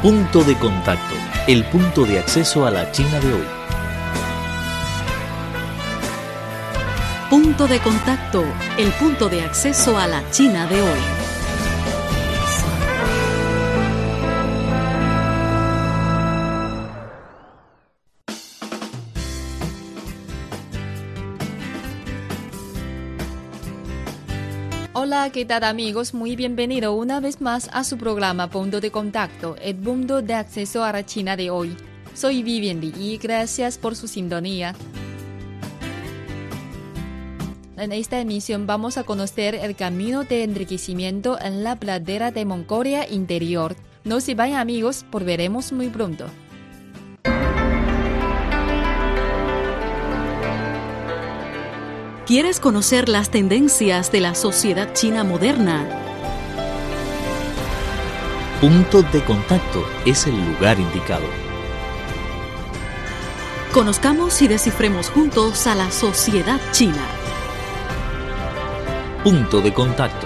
Punto de contacto, el punto de acceso a la China de hoy. Punto de contacto, el punto de acceso a la China de hoy. Hola, ¿qué tal amigos? Muy bienvenido una vez más a su programa Punto de Contacto, el punto de acceso a la China de hoy. Soy Vivian Li y gracias por su sintonía. En esta emisión vamos a conocer el camino de enriquecimiento en la pradera de Mongolia Interior. No se vayan amigos, volveremos muy pronto. ¿Quieres conocer las tendencias de la sociedad china moderna? Punto de contacto es el lugar indicado. Conozcamos y descifremos juntos a la sociedad china. Punto de contacto.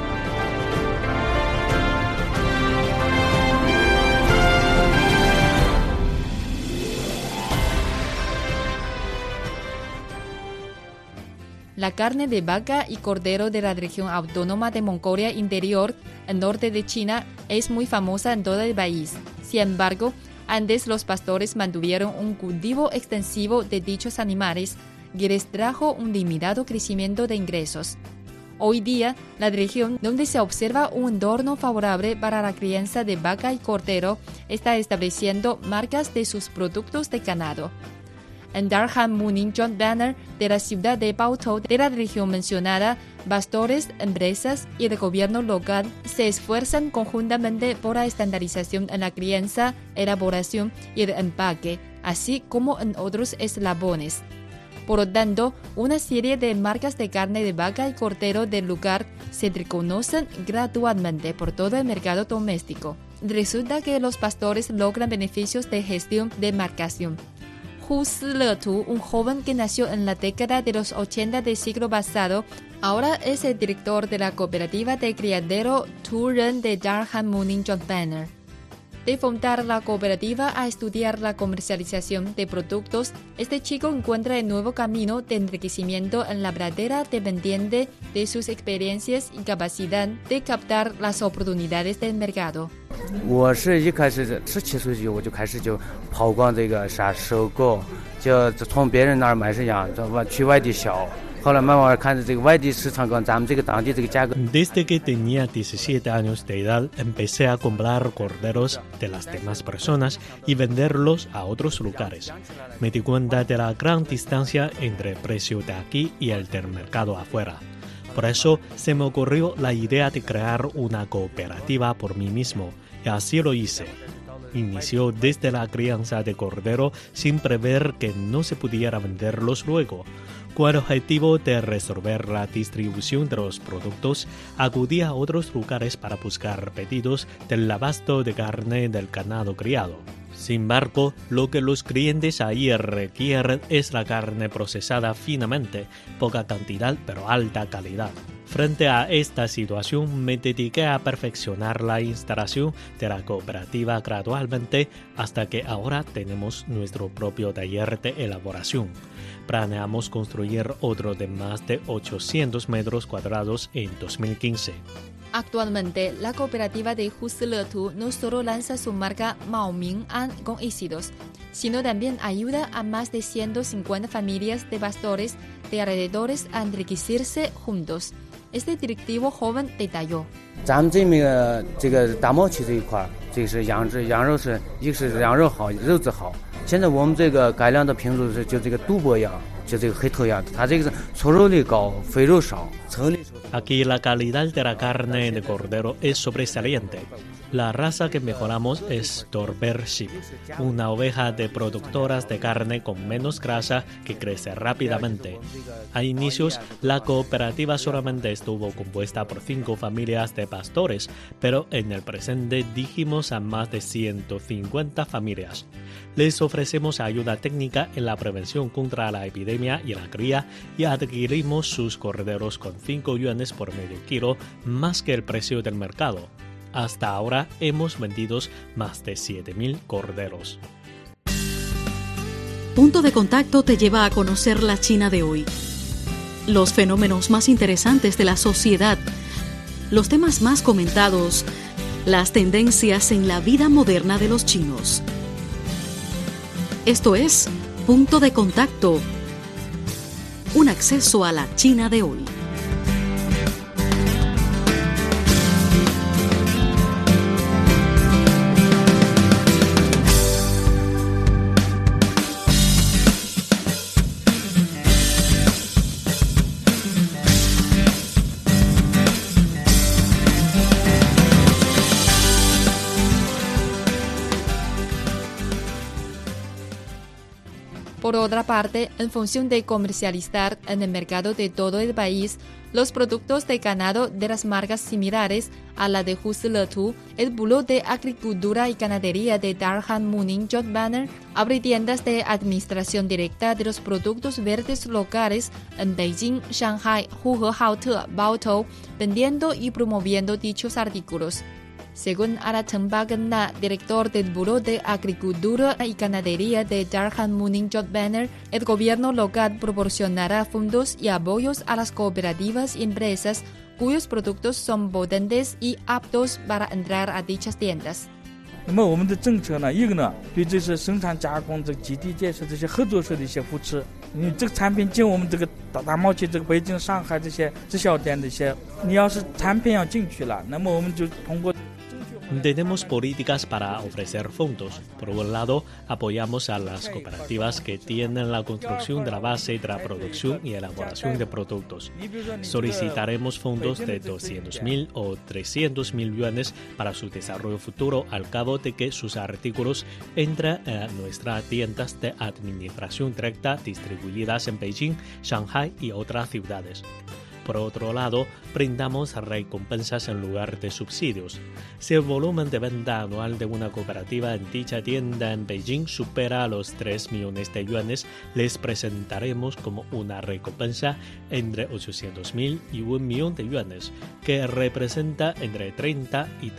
La carne de vaca y cordero de la región autónoma de Mongolia Interior, al norte de China, es muy famosa en todo el país. Sin embargo, antes los pastores mantuvieron un cultivo extensivo de dichos animales que les trajo un limitado crecimiento de ingresos. Hoy día, la región donde se observa un entorno favorable para la crianza de vaca y cordero está estableciendo marcas de sus productos de ganado. En Darhan Muning Joint Banner de la ciudad de Baotou de la región mencionada, pastores, empresas y el gobierno local se esfuerzan conjuntamente por la estandarización en la crianza, elaboración y el empaque, así como en otros eslabones. Por lo tanto, una serie de marcas de carne de vaca y cordero del lugar se reconocen gradualmente por todo el mercado doméstico. Resulta que los pastores logran beneficios de gestión de marcación. Hu Si-le-tu, un joven que nació en la década de los 80 del siglo pasado, ahora es el director de la cooperativa de criadero Tu Ren de Darhan Muning Joint Banner. De fundar la cooperativa a estudiar la comercialización de productos, este chico encuentra el nuevo camino de enriquecimiento en la pradera dependiente de sus experiencias y capacidad de captar las oportunidades del mercado. 我是一开始17岁就我就开始就跑光这个啥收购，就从别人那儿买是样，去外地销。 Desde que tenía 17 años de edad, empecé a comprar corderos de las demás personas y venderlos a otros lugares. Me di cuenta de la gran distancia entre el precio de aquí y el del mercado afuera. Por eso se me ocurrió la idea de crear una cooperativa por mí mismo, y así lo hice. Inició desde la crianza de cordero sin prever que no se pudiera venderlos luego. Con el objetivo de resolver la distribución de los productos, acudí a otros lugares para buscar pedidos del abasto de carne del ganado criado. Sin embargo, lo que los clientes ahí requieren es la carne procesada finamente, poca cantidad pero alta calidad. Frente a esta situación, me dediqué a perfeccionar la instalación de la cooperativa gradualmente hasta que ahora tenemos nuestro propio taller de elaboración. Planeamos construir otro de más de 800 metros cuadrados en 2015. Actualmente, la cooperativa de Hu Si-le-tu no solo lanza su marca Mao Ming An con éxitos, sino también ayuda a más de 150 familias de pastores de alrededores a enriquecerse juntos. Este directivo joven detalló. 咱们这边这个大贸区这一块，这是养殖羊肉是一个是羊肉好，肉质好。现在我们这个改良的品种是就这个杜博羊，就这个黑头羊，它这个是粗肉率高，肥肉少。 Aquí la calidad de la carne de cordero es sobresaliente. La raza que mejoramos es Dorber Sheep, una oveja de productoras de carne con menos grasa que crece rápidamente. A inicios, la cooperativa solamente estuvo compuesta por 5 familias de pastores, pero en el presente dirigimos a más de 150 familias. Les ofrecemos ayuda técnica en la prevención contra la epidemia y la cría y adquirimos sus corderos con 5 yuanes por medio kilo, más que el precio del mercado. Hasta ahora hemos vendido más de 7.000 corderos. Punto de Contacto te lleva a conocer la China de hoy. Los fenómenos más interesantes de la sociedad, los temas más comentados, las tendencias en la vida moderna de los chinos. Esto es Punto de Contacto, un acceso a la China de hoy. Por otra parte, en función de comercializar en el mercado de todo el país los productos de ganado de las marcas similares a la de Husletu, el Buró de Agricultura y Ganadería de Darhan Muning Joint Banner abre tiendas de administración directa de los productos verdes locales en Beijing, Shanghai, Huhehaote, Baotou, vendiendo y promoviendo dichos artículos. Según Ara Tengbagna, director del Buró de Agricultura y Ganadería de Darhan Muning Joint Banner, el gobierno local proporcionará fondos y apoyos a las cooperativas y empresas cuyos productos son potentes y aptos para entrar a dichas tiendas. 那么我们的政策呢，一个呢，对这些生产加工、这个基地建设这些合作社的一些扶持，因为这个产品进我们这个大贸区、这个北京、上海这些直销店的一些，你要是产品要进去了，那么我们就通过。 Tenemos políticas para ofrecer fondos. Por un lado, apoyamos a las cooperativas que tienen la construcción de la base de la producción y elaboración de productos. Solicitaremos fondos de 200.000 o 300.000 yuanes para su desarrollo futuro al cabo de que sus artículos entran a nuestras tiendas de administración directa distribuidas en Beijing, Shanghai y otras ciudades. Por otro lado, brindamos recompensas en lugar de subsidios. Si el volumen de venta anual de una cooperativa en dicha tienda en Beijing supera los 3 millones de yuanes, les presentaremos como una recompensa entre 800.000 y 1 millón de yuanes, que representa entre 30 y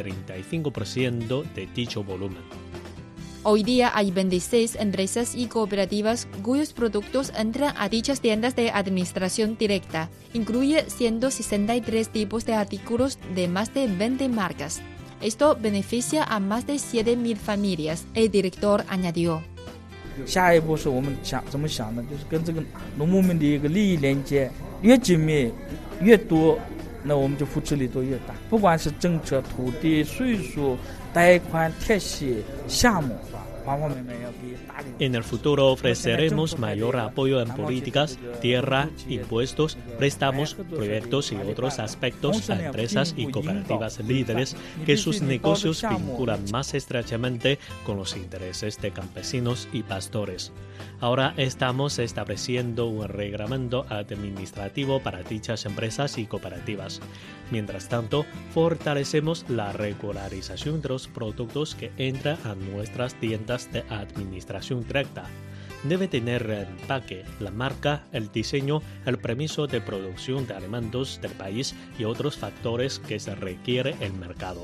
35% de dicho volumen. Hoy día hay 26 empresas y cooperativas cuyos productos entran a dichas tiendas de administración directa. Incluye 163 tipos de artículos de más de 20 marcas. Esto beneficia a más de 7.000 familias, el director añadió. 下一步是我们怎么想的，就是跟这个农牧民的一个利益连接越紧密越多，那我们就扶持力度越大。不管是政策、土地、税数、贷款、贴息、项目。 En el futuro ofreceremos mayor apoyo en políticas, tierra, impuestos, préstamos, proyectos y otros aspectos a empresas y cooperativas líderes que sus negocios vinculan más estrechamente con los intereses de campesinos y pastores. Ahora estamos estableciendo un reglamento administrativo para dichas empresas y cooperativas. Mientras tanto, fortalecemos la regularización de los productos que entran a nuestras tiendas de administración directa. Debe tener el empaque, la marca, el diseño, el permiso de producción de alimentos del país y otros factores que se requiere el mercado.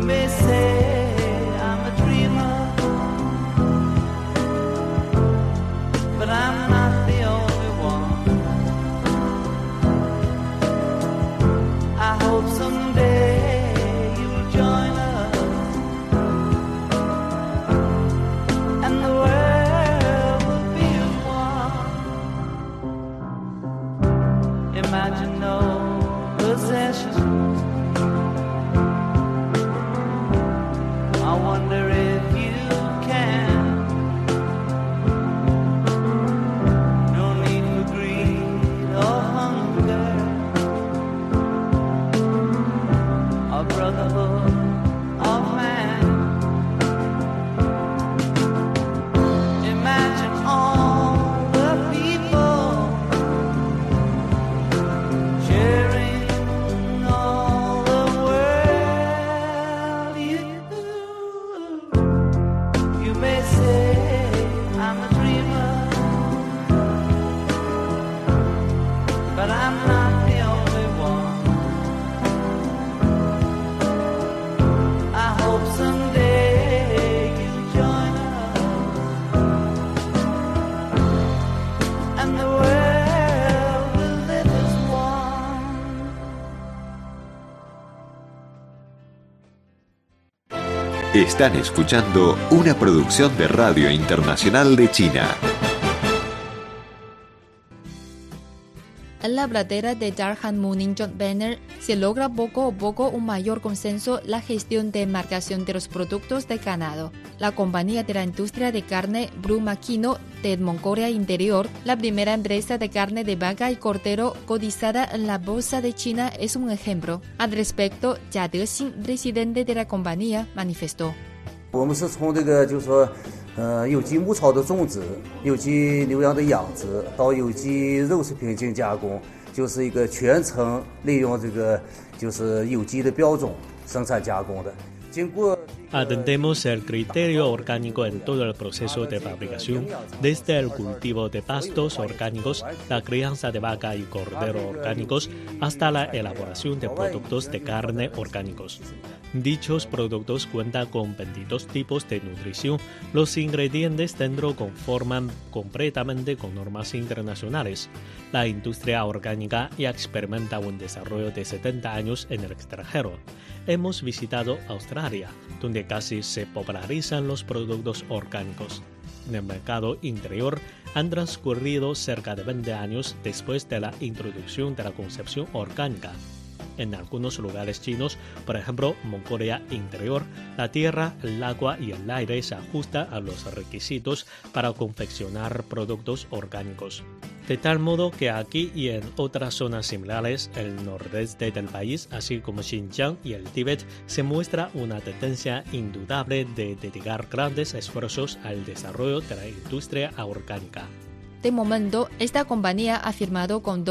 may say I'm a dreamer, but I'm not the only one. I hope someday you'll join us and the world will be as one. Imagine no possessions. I wonder if you can. No need for greed or hunger or brotherhood of man. Imagine all the people sharing all the world. You may say I'm a dreamer, but I'm not the only one. I hope someday you'll join us and the world will live as one. Están escuchando una producción de Radio Internacional de China. En la pradera de Darhan Mooning Joint Venture se logra poco a poco un mayor consenso la gestión de marcación de los productos de ganado. La compañía de la industria de carne Brumakino de Mongolia Interior, la primera empresa de carne de vaca y cordero cotizada en la bolsa de China, es un ejemplo. Al respecto, Jia Dexin, presidente de la compañía, manifestó. 我们是从这个就是说有机牧草的种植、有机牛羊的养殖到有机肉食品进行加工，就是一个全程利用这个就是有机的标种生产加工的。经过 Atendemos el criterio orgánico en todo el proceso de fabricación, desde el cultivo de pastos orgánicos, la crianza de vaca y cordero orgánicos, hasta la elaboración de productos de carne orgánicos. Dichos productos cuentan con 22 tipos de nutrición. Los ingredientes dentro conforman completamente con normas internacionales. La industria orgánica ya experimenta un desarrollo de 70 años en el extranjero. Hemos visitado Australia, donde casi se popularizan los productos orgánicos. En el mercado interior han transcurrido cerca de 20 años después de la introducción de la concepción orgánica. En algunos lugares chinos, por ejemplo, Mongolia Interior, la tierra, el agua y el aire se ajustan a los requisitos para confeccionar productos orgánicos. De tal modo que aquí y en otras zonas similares, el nordeste del país, así como Xinjiang y el Tíbet, se muestra una tendencia indudable de dedicar grandes esfuerzos al desarrollo de la industria orgánica. De momento, esta compañía ha firmado con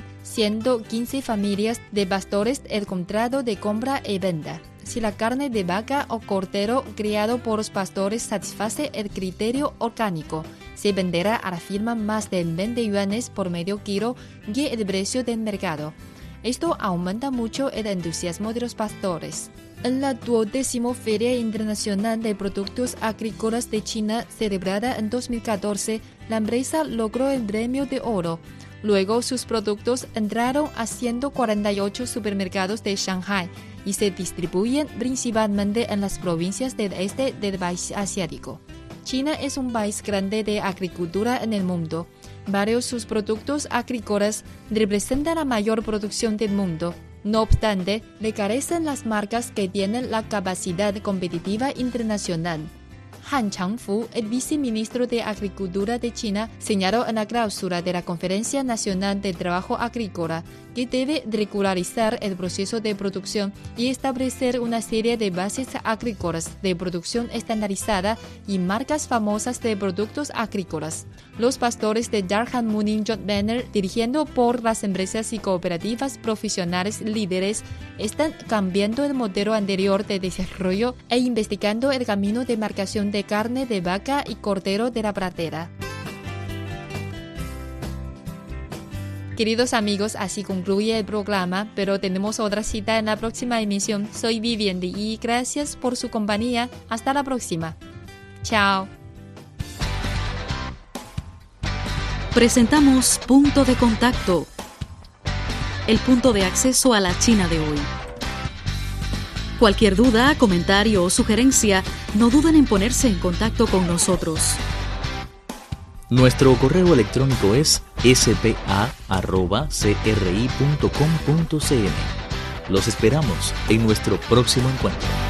2.115 familias de pastores el contrato de compra y venta. Si la carne de vaca o cordero criado por los pastores satisface el criterio orgánico, se venderá a la firma más de 20 yuanes por medio kilo y el precio del mercado. Esto aumenta mucho el entusiasmo de los pastores. En la 20ª Feria Internacional de Productos Agrícolas de China, celebrada en 2014, la empresa logró el premio de oro. Luego, sus productos entraron a 148 supermercados de Shanghai y se distribuyen principalmente en las provincias del este del país asiático. China es un país grande de agricultura en el mundo. Varios de sus productos agrícolas representan la mayor producción del mundo. No obstante, le carecen las marcas que tienen la capacidad competitiva internacional. Han Changfu, el viceministro de Agricultura de China, señaló en la clausura de la Conferencia Nacional de Trabajo Agrícola que debe regularizar el proceso de producción y establecer una serie de bases agrícolas de producción estandarizada y marcas famosas de productos agrícolas. Los pastores de Darhan Mooning Joint Venture, dirigiendo por las empresas y cooperativas profesionales líderes, están cambiando el modelo anterior de desarrollo e investigando el camino de marcación de carne de vaca y cordero de la pradera. Queridos amigos, así concluye el programa, pero tenemos otra cita en la próxima emisión. Soy Vivian y gracias por su compañía. Hasta la próxima. Chao. Presentamos Punto de Contacto, el punto de acceso a la China de hoy. Cualquier duda, comentario o sugerencia, no duden en ponerse en contacto con nosotros. Nuestro correo electrónico es spa@cri.com.cn. Los esperamos en nuestro próximo encuentro.